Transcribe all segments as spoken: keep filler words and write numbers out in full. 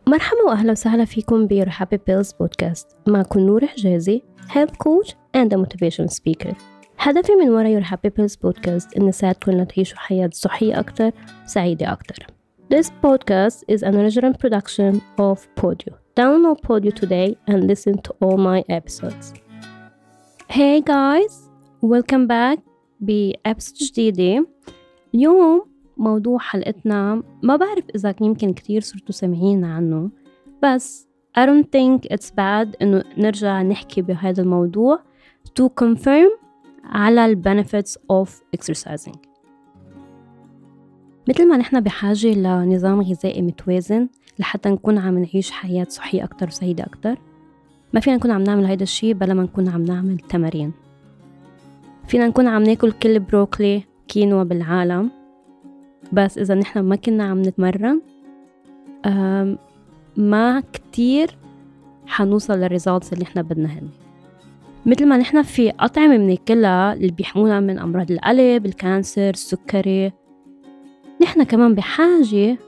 مرحبا وأهلا وسهلا فيكم ب Your Happy Pills Podcast. معكم نور حجازي Health Coach and a Motivational Speaker. هدفي من وراء Your Happy Pills Podcast إن نساعدكم لتعيشوا حياة صحية أكتر وسعيدة أكتر. This podcast is an original production of Podio. Download Podio today and listen to all my episodes. Hey guys, welcome back بأبسود جديدة. اليوم موضوع حلقتنا ما بعرف إذا يمكن كتير صرتوا سمعين عنه، بس I don't think it's bad إنه نرجع نحكي بهذا الموضوع to confirm على ال benefits of exercising. مثل ما نحن بحاجة لنظام غذائي متوازن لحتى نكون عم نعيش حياة صحية أكتر وسعيدة أكتر، ما فينا نكون عم نعمل هيدا الشيء بلا ما نكون عم نعمل تمارين. فينا نكون عم ناكل كل بروكلي كينوا بالعالم، بس إذا نحن ما كنا عم نتمرن ما كتير حنوصل للريزالتس اللي نحن بدنا هن. مثل ما نحن في أطعمة بناكلها اللي بيحمونا من أمراض القلب، الكانسر، السكري، نحن كمان بحاجة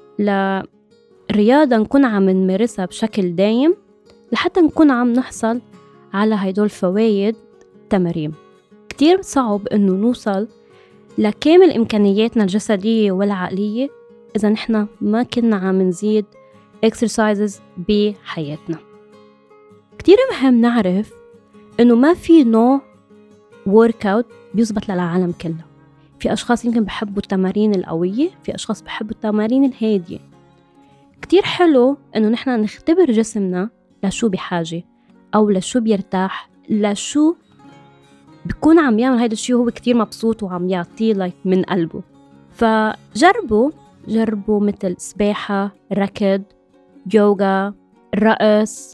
لرياضة نكون عم نمارسها بشكل دايم لحتى نكون عم نحصل على هيدول الفوائد تمارين. كتير صعب إنه نوصل لكامل إمكانياتنا الجسدية والعقلية إذا نحن ما كنا عم نزيد exercises بحياتنا. كتير مهم نعرف إنه ما في نوع workout بيزبط للعالم كله. في أشخاص يمكن بحبوا التمارين القوية، في أشخاص بحبوا التمارين الهادية. كتير حلو إنه نحن نختبر جسمنا لشو بحاجة أو لشو بيرتاح، لشو بيكون عم يعمل هيدا الشيء وهو كتير مبسوط وعم يعطيه لايك من قلبه. فجربوا جربوا مثل سباحة، ركض، يوغا، رقص،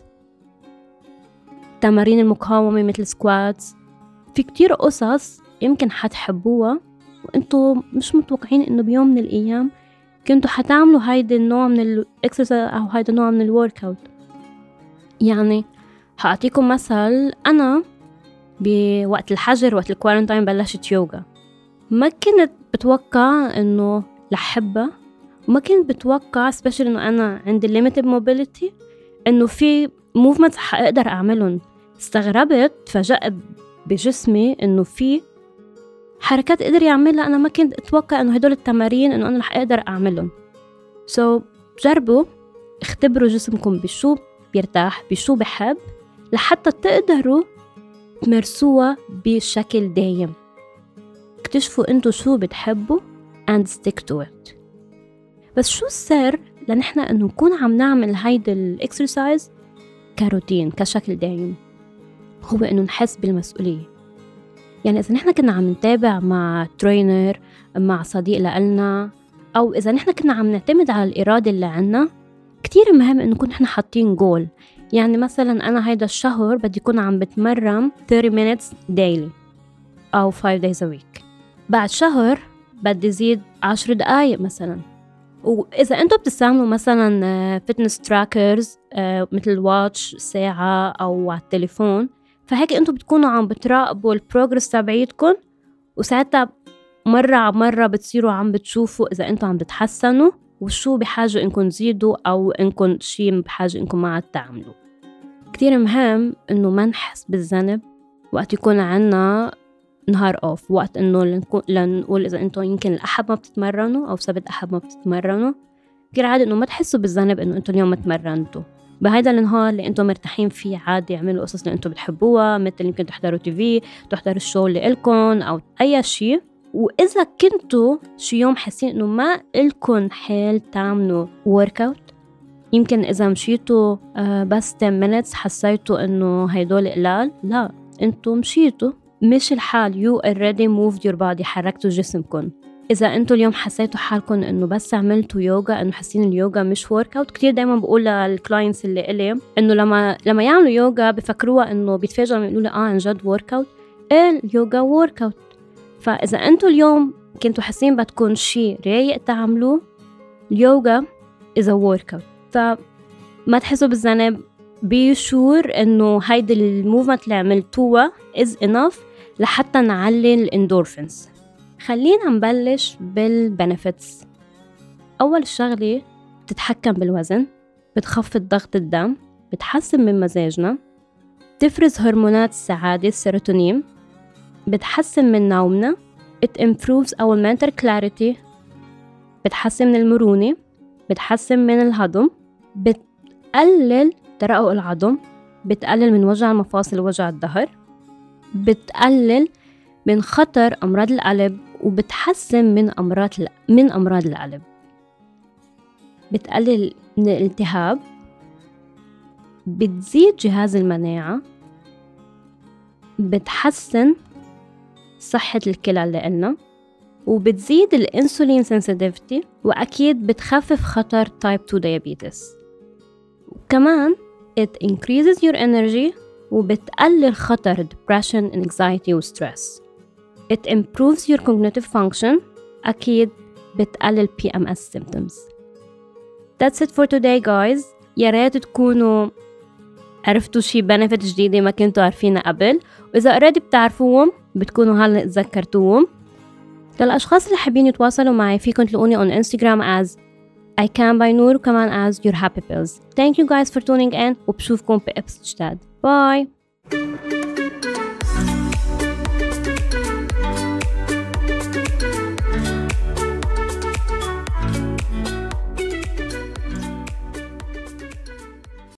تمارين المقاومة مثل سكواتس. في كتير قصص يمكن حتحبوها وانتو مش متوقعين انه بيوم من الايام كنتوا حتعملوا هيدا النوع من الاكسرسايز او هيدا النوع من الوركاوت. يعني هعطيكم مثل، انا بوقت الحجر وقت الكوارنتاين بلشت يوغا. ما كنت بتوقع انه لحبها، وما كنت بتوقع especially انه انا عندي limited mobility انه في movements حقدر اعملهم. استغربت، فجأت بجسمي انه في حركات قدر يعملها انا ما كنت اتوقع انه هدول التمارين انه انا رح اقدر اعملهم. so جربوا اختبروا جسمكم بشو بيرتاح، بشو بحب، لحتى تقدروا تمارسوها بشكل دايم. اكتشفوا انتو شو بتحبوا and stick to it. بس شو السر لنحن انه نكون عم نعمل هيدا الاكسرسايز كروتين كشكل دايم؟ هو انه نحس بالمسؤولية. يعني اذا نحن كنا عم نتابع مع ترينر، مع صديق لنا، او اذا نحن كنا عم نعتمد على الارادة اللي عنا، كتير مهم انه نكون نحن حاطين جول. يعني مثلا أنا هيدا الشهر بدي يكون عم بتمرن thirty minutes daily أو five days a week. بعد شهر بدي زيد عشر دقايق مثلا. وإذا أنتوا بتستعملوا مثلا fitness trackers مثل واتش، ساعة أو على التليفون، فهيك أنتوا بتكونوا عم بتراقبوا البروجرس تبعيتكم، وساعتها مرة على مرة بتصيروا عم بتشوفوا إذا أنتوا عم بتحسنوا وشو بحاجة إنكم تزيدوا أو إنكم شيء بحاجة إنكم ما تعملوا. كتير مهم إنه ما نحس بالذنب وقت يكون عنا نهار أوف، وقت إنه لنقول إذا أنتوا يمكن الأحد ما بتتمرنوا أو سبت أحد ما بتتمرنوا، كتير عادي إنه ما تحسوا بالذنب إنه أنتوا اليوم ما تمرنتوا. بهيدا النهار اللي أنتوا مرتاحين فيه عادي اعملوا قصص اللي أنتوا بتحبوها، مثل يمكن تحضروا تيفي، تحضروا الشو اللي إلكن أو أي شيء. وإذا كنتوا شي يوم حاسين إنه ما إلكن حال تعملوا workout، يمكن إذا مشيتوا بس ten minutes حسيتوا إنه هيدول قلال، لا، أنتوا مشيتوا مش الحال، you already moved your body، حركتوا جسمكم. إذا أنتوا اليوم حسيتوا حالكم إنه بس عملتوا يوغا، إنه حاسين اليوغا مش workout، كتير دايما بقول للكلاينتس اللي إلي إنه لما لما يعملوا يوغا بفكروها إنه بيتفاجئوا يقولوا لي آه عن جد workout. إيه اليوغا workout. فإذا أنتوا اليوم كنتوا حاسين بدكم شيء رايق تعملوه، اليوغا is a workout. فما تحسوا بالذنب، be sure إنه هيدا الموفمنت اللي عملتوها is enough لحتى نعلي الاندورفينز. خلينا نبلش بالبنفيتس. أول شغلة بتتحكم بالوزن، بتخفض ضغط الدم، بتحسن من مزاجنا، بتفرز هرمونات السعادة السيروتونين، بتحسن من نومنا. it improves our mental clarity، بتحسن من المرونة، بتحسن من الهضم، بتقلل ترقق العظم، بتقلل من وجع المفاصل ووجع الظهر، بتقلل من خطر أمراض القلب، وبتحسن من أمراض من أمراض القلب، بتقلل من الالتهاب، بتزيد جهاز المناعة، بتحسن صحة الكلى اللي قلنا، وبتزيد الانسولين sensitivity، وأكيد بتخفف خطر type two diabetes. وكمان it increases your energy، وبتقلل خطر depression, anxiety و stress. it improves your cognitive function، أكيد بتقلل بي إم إس symptoms. That's it for today guys. يا ريت تكونوا عرفتوا شي benefit جديدة ما كنتوا عارفينها قبل، وإذا already بتعرفوهم بتكونوا هلأ تذكرتوهم. للأشخاص اللي حابين يتواصلوا معي فيكم تلاقوني on Instagram as I can by Noor، وكمان as your happy pills. Thank you guys for tuning in، وبشوفكم بإبس جداد. Bye.